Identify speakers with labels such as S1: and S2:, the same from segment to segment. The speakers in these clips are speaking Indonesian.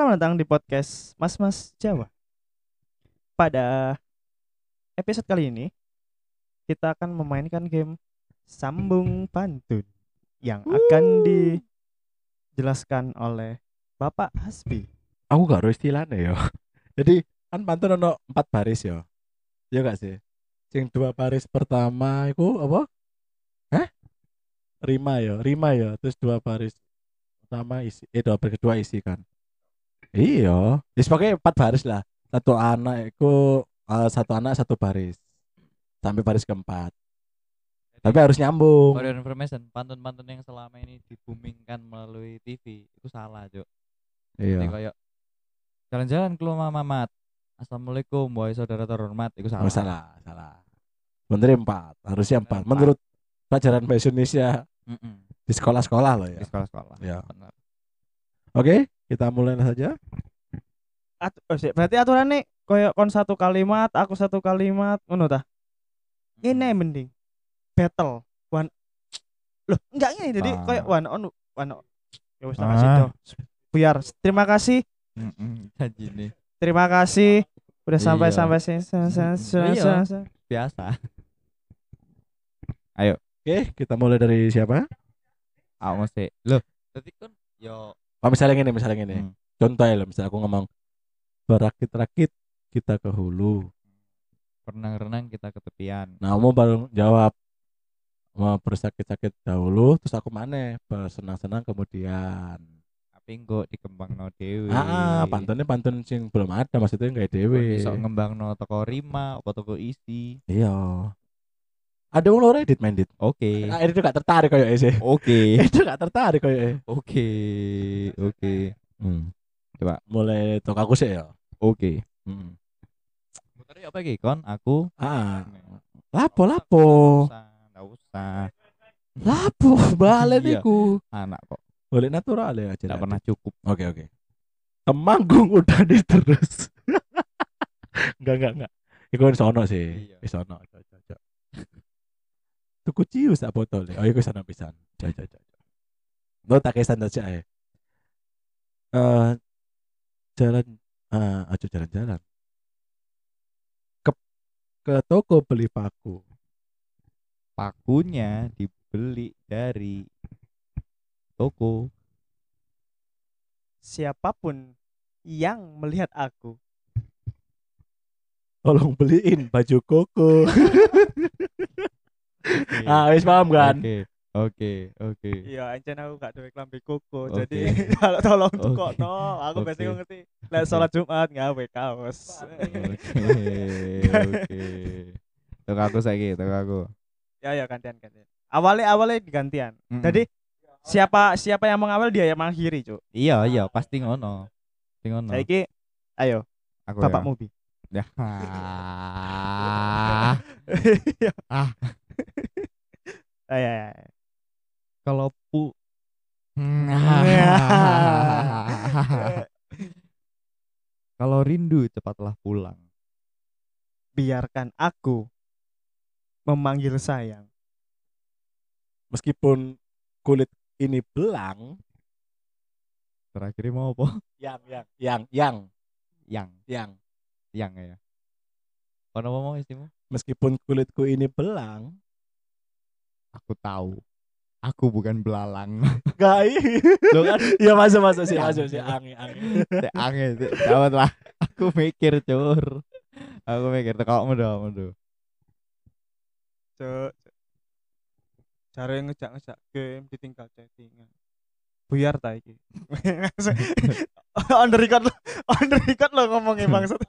S1: Selamat datang di podcast Mas Jawa. Pada episode kali ini kita akan memainkan game Sambung Pantun yang akan dijelaskan oleh Bapak Hasbi.
S2: Aku gak tahu istilahnya ya. Jadi kan pantun ono 4 baris ya. Ya gak sih? Sing 2 baris pertama itu apa? Hah? Rima ya. Terus 2 baris pertama isi, 2 baris kedua isi kan. Iya. Ya sebagai 4 baris lah. Satu anak 1 baris sampai baris keempat. Tapi harus
S3: For
S2: nyambung.
S3: your information, pantun-pantun yang selama ini dibumingkan melalui TV itu salah, Cuk. Ini
S2: Iya.
S3: kayak jalan-jalan ke rumah Mamat. Assalamualaikum wahai saudara terhormat, itu
S2: Oh,
S3: salah.
S2: salah. Bener 4, harusnya 4.
S3: Empat.
S2: Menurut pelajaran bahasa Indonesia
S3: Mm-mm.
S2: di sekolah-sekolah loh
S3: Di
S2: ya.
S3: sekolah-sekolah.
S2: Ya.
S3: Benar.
S2: Oke, kita mulai saja.
S1: Berarti aturannya koyo kon satu kalimat, aku satu kalimat, ngono ta? Ini mending battle one. Loh, enggak ini jadi
S3: Ah.
S1: koyo one on. Ya wis tak kasih toh. Biar terima kasih.
S3: Janji nih.
S1: Terima kasih udah sampai
S3: Iya.
S1: sini.
S3: Iya. Biasa.
S2: Oke, kita mulai dari siapa?
S3: Aku mesti. Loh, tadi kan yo
S2: Oh, misalnya gini.
S3: Hmm.
S2: Contoh ya, misalnya aku ngomong berakit-rakit kita ke hulu.
S3: renang-renang kita ke tepian.
S2: Nah, kamu baru jawab mau bersakit-sakit dahulu, terus aku mana bersenang-senang kemudian.
S3: Tapi kok dikembangno dhewe.
S2: Pantunnya pantun sing belum ada, maksudnya nggak
S3: Kok
S2: dewe.
S3: iso ngembangno toko rima apa toko isi.
S2: Iya. Ada yang lo edit main dit.
S3: Oke.
S2: Nah, itu gak tertarik kayak sih.
S3: Oke.
S2: Itu gak tertarik kayak.
S3: Oke. Coba.
S2: Mulai tok aku sih ya.
S3: Oke.
S2: Hmm.
S3: Muter apa iki kon? Aku.
S2: Lapo.
S3: Enggak usah.
S2: Lapo balen
S3: Iya.
S2: iku.
S3: Anak kok.
S2: Boleh natural ya aja.
S3: Enggak pernah cukup.
S2: Oke. Temanggung udah terus. Enggak. Iku wis ono sih.
S3: Iya.
S2: Wis ono. Tuku cius tak botol. Oh, iku sana pisan. Jaja. Lo tak kesan aja ya. Jalan-jalan. Ke toko beli paku.
S3: Pakunya dibeli dari toko.
S1: Siapapun yang melihat aku
S2: Tolong beliin baju koko. Wis paham kan?
S3: Oke.
S1: iya ancen aku gak duwe klambi koko
S3: Oke.
S1: jadi kalau tolong
S3: Oke.
S1: tukokno aku
S3: Oke.
S1: biasanya ngerti lek salat Jumat gawe kaos
S3: Oke. Tok aku saiki, tok aku.
S1: ya gantian awalnya digantian jadi siapa yang mengawal dia yang mengakhiri cuk
S3: Iya, pasti ngono.
S1: saiki ayo
S3: Aku
S1: Bapak
S3: ya.
S1: Mubi
S3: Ya.
S1: ya.
S3: Kalau Kalau rindu cepatlah pulang.
S1: biarkan aku memanggil sayang
S2: Meskipun kulit ini belang,
S3: Terakhir mau apa?
S2: yang
S3: Yang ya. Ono mau istimu?
S2: meskipun kulitku ini belang,
S3: Aku tahu. Aku bukan belalang.
S2: gai.
S3: Lo kan
S2: Ya masuk sih,
S3: Yang.
S2: angin.
S3: angin dapat lah. Aku mikir cur. Aku mikir tekokmu do.
S1: cuk cara ngejak game ditinggal chattingan buyar ta iki on the record lo ngomongin bangsat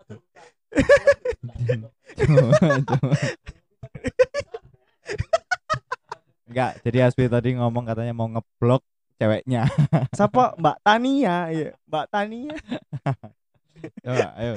S3: Enggak, jadi Aspi tadi ngomong katanya mau ngeblok ceweknya.
S1: siapa Mbak Tania iya Mbak Tania
S3: Coba, ayo.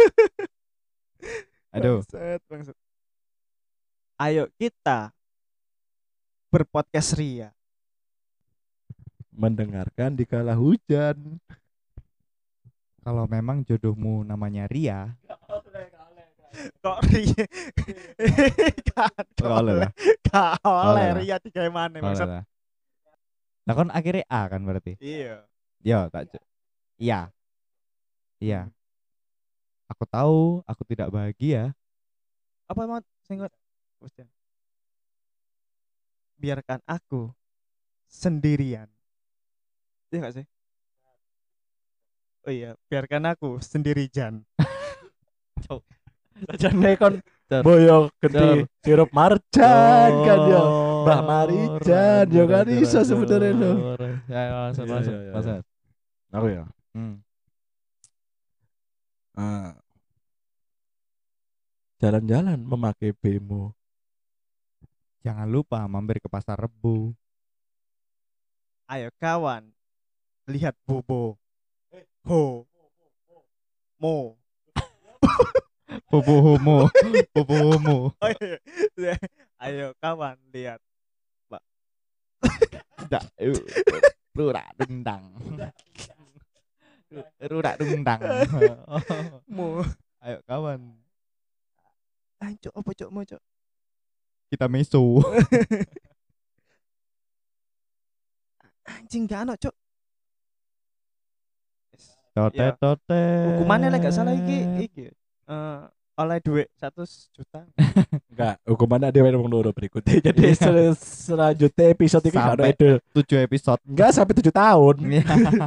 S3: Aduh.
S1: Bangsat. Ayo kita berpodcast ria
S2: Mendengarkan di kala hujan.
S3: Kalau memang jodohmu namanya Ria,
S1: kok ria
S3: oleh lah.
S1: gak
S3: Oleh
S1: oleh
S3: lah.
S1: ria tiga mana bangsat
S3: Lah. Nah kan akhirnya A kan berarti.
S1: iya
S3: Yo, tak. Iya. Iya. Aku tahu aku tidak bahagia.
S1: Apa mau singkat? Biarkan aku sendirian. Iya gak sih? Oh iya, biarkan aku sendiri Jan.
S2: Jane kon
S3: Cor.
S2: boyo
S3: Cor.
S2: gede sirup marjan kan yo. Mbah Marijan yo kan iso sebenarnya lo.
S3: Ya, langsung
S2: Iya,
S3: langsung.
S2: iya, iya.
S3: Langsung.
S2: Aku ya. Ah, jalan-jalan memakai bemo.
S3: Jangan lupa mampir ke pasar Rebo.
S1: Ayo kawan, lihat Bobo. Ho. Mo.
S3: Bobo homo. Bobo homo.
S1: Oh, iya. Ayo kawan, lihat.
S3: Tidak. Rurak dendang. Rurak dendang.
S1: Mo.
S3: Ayo kawan.
S1: Ayo apa cok mau cok?
S3: Kita meso.
S1: Anjing gak ono cok.
S3: Totet
S1: Ya.
S3: totet.
S1: Hukumannya lah gak salah iki. Oleh duit 100 juta.
S2: Enggak, hukumannya dia wong loro berikutnya. Jadi selanjutnya episode ini
S3: Sampai
S2: ada
S3: 7 episode.
S2: enggak sampai 7 tahun.
S3: Iya.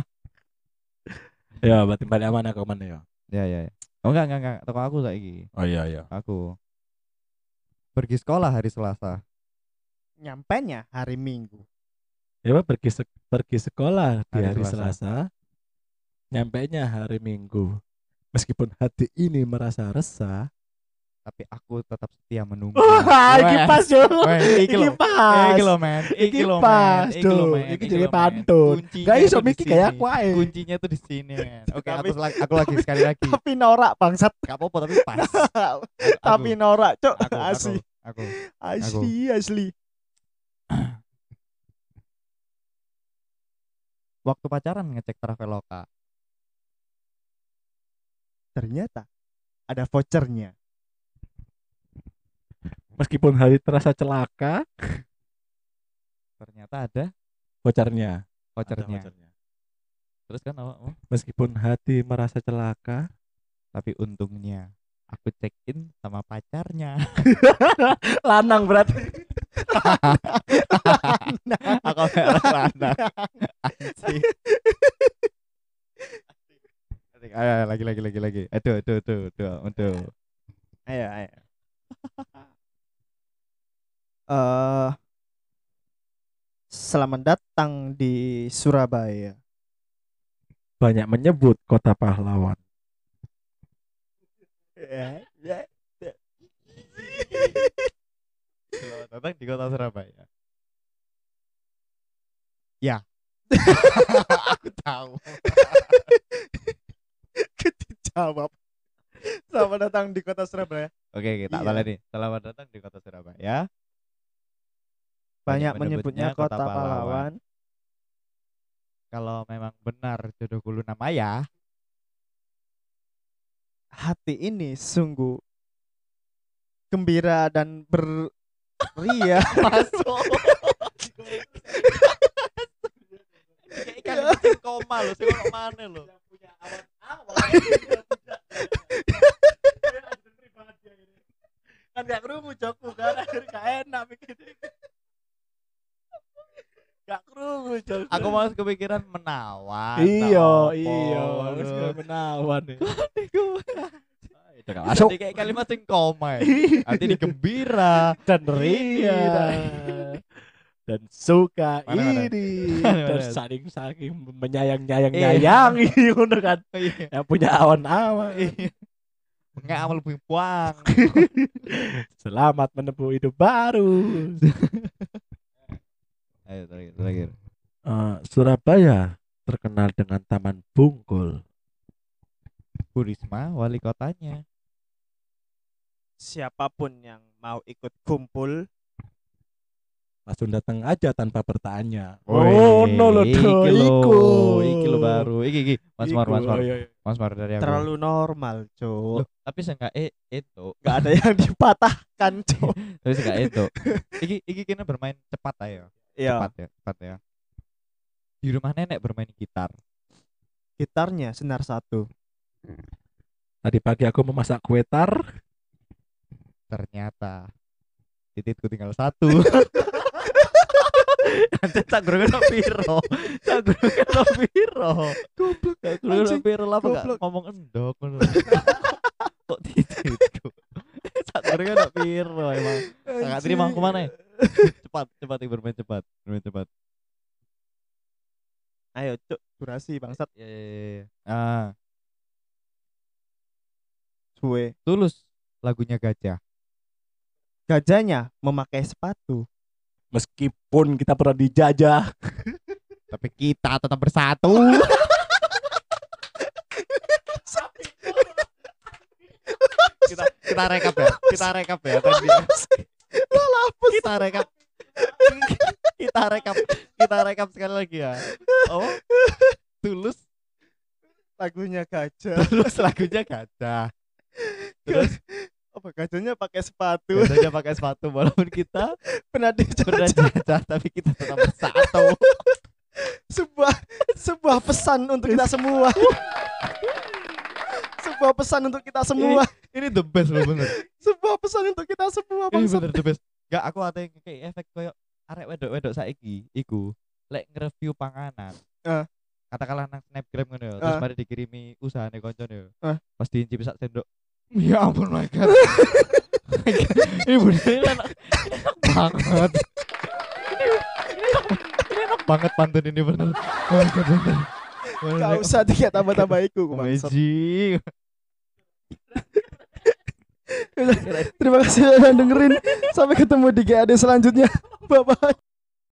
S2: Ya, berarti balik mana ke mana ya?
S3: Ya. Oh enggak. Toko aku saiki.
S2: Oh iya.
S3: Aku pergi sekolah hari Selasa.
S1: Nyampenya hari Minggu.
S2: Ya, Pak, pergi sekolah di
S3: Hari
S2: hari
S3: Selasa.
S2: Selasa. Nyampainya hari Minggu. Meskipun hati ini merasa resah.
S3: Tapi aku tetap setia menunggu.
S2: Iki pas yo.
S3: Weh, iki lho.
S2: pas.
S3: Iki lho men.
S2: Iki pas, Dok. Iki jadi pantun. Gak iso mikir kayak aku ae.
S3: Kuncinya tuh di sini men. Oke,
S1: Tapi-
S3: aku lagi sekali lagi.
S1: Tapi norak bangsat.
S3: Gak apa-apa tapi pas.
S1: Tapi norak cok.
S3: aku
S1: Asli.
S3: aku
S1: Asli.
S3: waktu pacaran ngecek Traveloka.
S1: Ternyata ada vouchernya.
S2: Meskipun hari terasa celaka,
S3: Ternyata ada
S2: vouchernya.
S3: vouchernya.
S2: Ada vouchernya.
S3: Terus kan awakmu?
S2: Meskipun hati merasa celaka,
S3: Tapi untungnya aku check in sama pacarnya.
S2: lanang berarti.
S3: Aku lanang. Anjing. Ayo lagi. Aduh.
S1: Ayo. Selamat datang di Surabaya.
S2: Banyak menyebut kota pahlawan.
S3: Selamat datang di kota Surabaya. Ya. Aku tahu.
S1: Dijawab. Selamat datang di kota Surabaya.
S3: Oke, tak
S1: Iya.
S3: balik nih. Selamat datang di kota Surabaya.
S1: Banyak menyebutnya kota pahlawan.
S3: Kalau memang benar jodohku Luna Maya,
S1: Hati ini sungguh gembira dan beria.
S3: masuk. Kayak ikan kucing koma loh, sing kok mana loh.
S2: Kan gak kerungu jokku kan, gak enak mikir. Gak kerungu jokku.
S3: Aku malah kepikiran menawan.
S2: Iya,
S3: tak
S2: wis
S3: apa.
S2: menawan nih. Itu gak
S3: Masuk.
S2: masuk
S3: Kayak kalimat sing koma. Hati ini gembira.
S2: dan ria dan suka
S3: Mana?
S2: ini
S3: Mana?
S2: dan saking menyayang-nyayangi ngono kan. Yang punya awan-awan.
S3: Enggak amal buang.
S2: Selamat menempuh hidup baru.
S3: Ayo terakhir.
S2: Surabaya terkenal dengan Taman Bungkul.
S3: Bu Risma wali kotanya.
S1: Siapapun yang mau ikut kumpul,
S2: Langsung datang aja tanpa bertanya.
S3: Woi,
S2: no lo
S3: iki lo baru. Iki Mas Mar.
S2: Iya.
S3: Mas Mar dari aku.
S1: terlalu normal, Cuk.
S3: Loh, tapi seenggak itu.
S1: Gak ada yang dipatahkan, Cuk.
S3: Tapi seenggak itu. Iki kena bermain cepat ayo.
S1: Iya,
S3: Cepat ya. Di rumah nenek bermain gitar.
S1: gitarnya senar 1.
S2: Tadi pagi aku memasak kue tar.
S3: Ternyata tititku tinggal satu. Anjir tak gurung ono piro. Tak gurung ono piro.
S1: Goblok.
S3: Tak gurung ono
S1: Anjing,
S3: piro lah kok gak
S1: goblok.
S3: ngomong endok ngono. Kok tititku. Tak gurung ono piro emang. Kakak terima aku mana? Cepat bermain cepat. Bermain cepat.
S1: Ayo cuk, durasi bangsat.
S3: Ya. Ah,
S1: Suwe.
S3: Tulus lagunya Gajah.
S1: Gajahnya memakai sepatu.
S2: Meskipun kita pernah dijajah.
S3: Tapi kita tetap bersatu. kita rekap ya. Kita rekap ya tadi. Kita rekap. Kita rekap sekali lagi ya. Oh. Tulus
S1: Lagunya gajah.
S3: lagunya Gajah. Terus
S1: Apa gajahnya pakai sepatu?
S3: Gajahnya pakai sepatu walaupun kita
S1: Pernah
S3: pernah
S1: dijajah.
S3: jajah tapi kita tetap bersatu.
S1: sebuah pesan untuk kita semua. Sebuah pesan untuk kita semua.
S3: Ini the best loh bener.
S1: Sebuah pesan untuk kita semua
S3: Ini
S1: bangsat.
S3: bener the best. Gak aku ate kayak efek koyo arek wedok-wedok saiki iku lek nge-review panganan. Katakanlah nang Snapgram ngono ya, terus mari dikirimi usahane koncone ya. Pas diincip sak sendok. Ya ampun my god. Ini bener enak banget. Ini enak banget pantun ini bener. Oh my god bener.
S1: Gak usah tiga tambah-tambah iku bangsat.
S3: Amazing.
S1: Terima kasih sudah dengerin. Sampai ketemu di GAD selanjutnya. Bye bye.